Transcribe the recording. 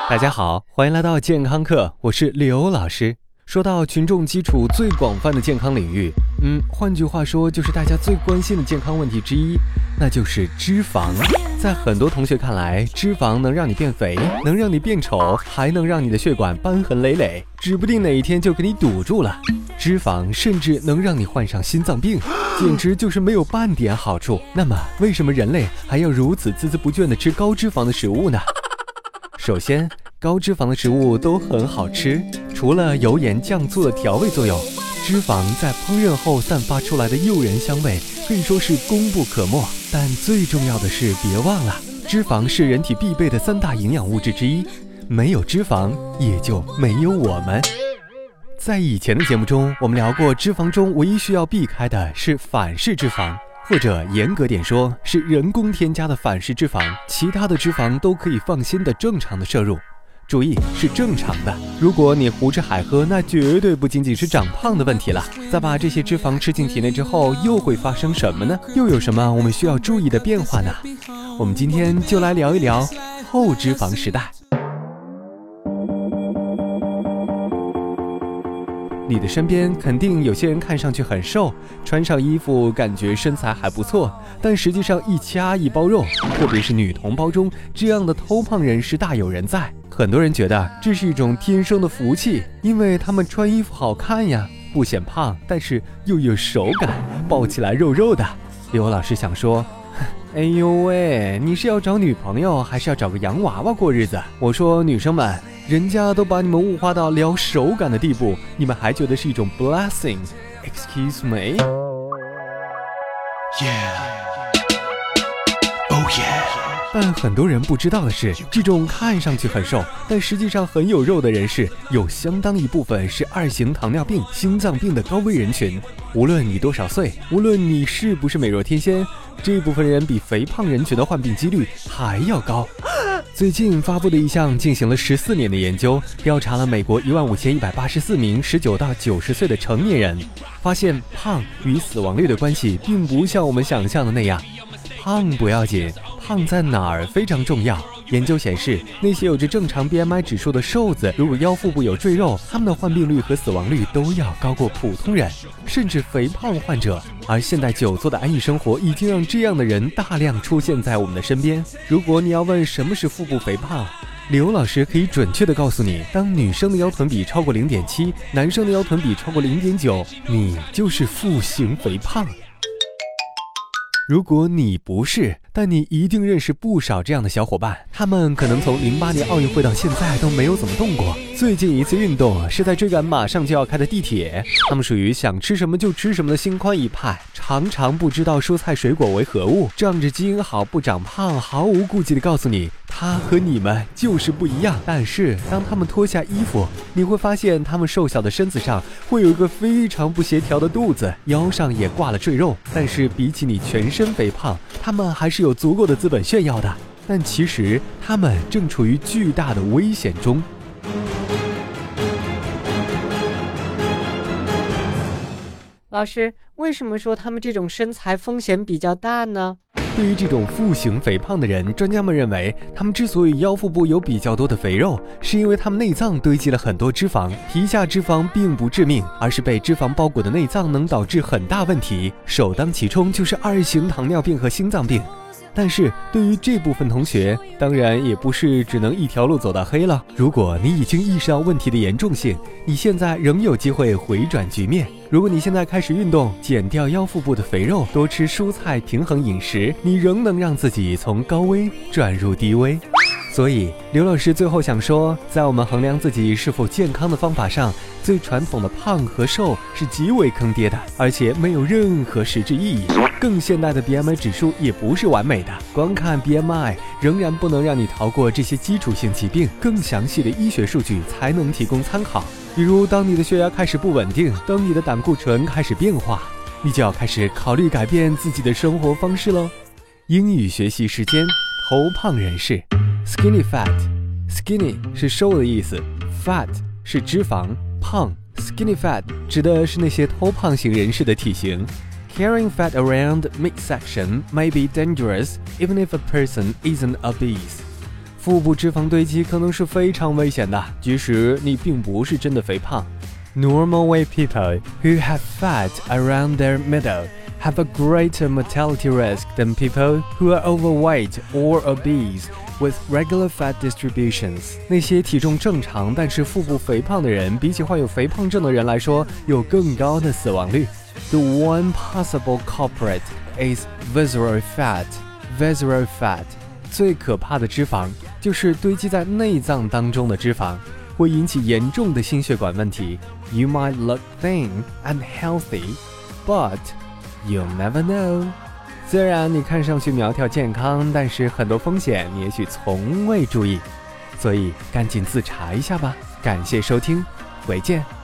大家好，欢迎来到健康课，我是刘老师。说到群众基础最广泛的健康领域，换句话说就是大家最关心的健康问题之一，那就是脂肪。在很多同学看来，脂肪能让你变肥，能让你变丑，还能让你的血管瘢痕累累，指不定哪一天就给你堵住了。脂肪甚至能让你患上心脏病，简直就是没有半点好处。那么为什么人类还要如此孜孜不倦地吃高脂肪的食物呢？首先，高脂肪的食物都很好吃，除了油盐酱醋的调味作用，脂肪在烹饪后散发出来的诱人香味可以说是功不可没。但最重要的是，别忘了，脂肪是人体必备的3大营养物质之一，没有脂肪也就没有我们。在以前的节目中，我们聊过，脂肪中唯一需要避开的是反式脂肪，或者严格点说，是人工添加的反式脂肪，其他的脂肪都可以放心的正常的摄入。注意，是正常的。如果你胡吃海喝，那绝对不仅仅是长胖的问题了。再把这些脂肪吃进体内之后，又会发生什么呢？又有什么我们需要注意的变化呢？我们今天就来聊一聊后脂肪时代。你的身边肯定有些人看上去很瘦，穿上衣服感觉身材还不错，但实际上一掐一包肉，特别是女同胞中，这样的偷胖人士大有人在。很多人觉得这是一种天生的福气，因为他们穿衣服好看呀，不显胖，但是又有手感，抱起来肉肉的。刘老师想说，哎呦喂，你是要找女朋友还是要找个洋娃娃过日子？我说女生们，人家都把你们物化到聊手感的地步，你们还觉得是一种 blessing？ Excuse me？ Yeah. Oh yeah. 但很多人不知道的是，这种看上去很瘦，但实际上很有肉的人士，有相当一部分是2型糖尿病、心脏病的高危人群。无论你多少岁，无论你是不是美若天仙，这部分人比肥胖人群的患病几率还要高。最近发布的一项进行了14年的研究，调查了美国15184名19到90岁的成年人，发现胖与死亡率的关系并不像我们想象的那样。胖不要紧，胖在哪儿非常重要。研究显示，那些有着正常 BMI 指数的瘦子，如果腰腹部有赘肉，他们的患病率和死亡率都要高过普通人，甚至肥胖患者。而现代久坐的安逸生活已经让这样的人大量出现在我们的身边。如果你要问什么是腹部肥胖，刘老师可以准确地告诉你，当女生的腰臀比超过 0.7， 男生的腰臀比超过 0.9， 你就是腹型肥胖。如果你不是，但你一定认识不少这样的小伙伴，他们可能从08年奥运会到现在都没有怎么动过，最近一次运动是在追赶马上就要开的地铁。他们属于想吃什么就吃什么的心宽一派，常常不知道蔬菜水果为何物，仗着基因好不长胖，毫无顾忌地告诉你他和你们就是不一样。但是当他们脱下衣服，你会发现他们瘦小的身子上会有一个非常不协调的肚子，腰上也挂了赘肉。但是比起你全身肥胖，他们还是有足够的资本炫耀的。但其实他们正处于巨大的危险中。 老师，为什么说他们这种身材风险比较大呢？ 对于这种腹型肥胖的人，专家们认为，他们之所以腰腹部有比较多的肥肉，是因为他们内脏堆积了很多脂肪。皮下脂肪并不致命，而是被脂肪包裹的内脏能导致很大问题，首当其冲就是2型糖尿病和心脏病。但是对于这部分同学，当然也不是只能一条路走到黑了。如果你已经意识到问题的严重性，你现在仍有机会回转局面。如果你现在开始运动，减掉腰腹部的肥肉，多吃蔬菜，平衡饮食，你仍能让自己从高危转入低危。所以刘老师最后想说，在我们衡量自己是否健康的方法上，最传统的胖和瘦是极为坑爹的，而且没有任何实质意义。更现代的 BMI 指数也不是完美的，光看 BMI 仍然不能让你逃过这些基础性疾病，更详细的医学数据才能提供参考。比如当你的血压开始不稳定，当你的胆固醇开始变化，你就要开始考虑改变自己的生活方式咯。英语学习时间，头胖人士 Skinny fat， Skinny 是瘦的意思， Fat 是脂肪，胖 Skinny fat 指的是那些偷胖型人士的体型。Carrying fat around midsection may be dangerous even if a person isn't obese。 腹部脂肪堆积可能是非常危险的，即使你并不是真的肥胖。Normal weight people who have fat around their middle have a greater mortality risk than people who are overweight or obese with regular fat distributions. 那些体重正常但是腹部肥胖的人，比起患有肥胖症的人来说，有更高的死亡率。The one possible culprit is visceral fat. Visceral fat 最可怕的脂肪就是堆积在内脏当中的脂肪，会引起严重的心血管问题。You might look thin and healthy, but you'll never know. 虽然你看上去苗条健康，但是很多风险你也许从未注意，所以赶紧自查一下吧。感谢收听，回见。